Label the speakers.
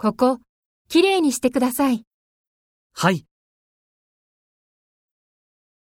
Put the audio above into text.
Speaker 1: ここ、きれいにしてください。
Speaker 2: はい。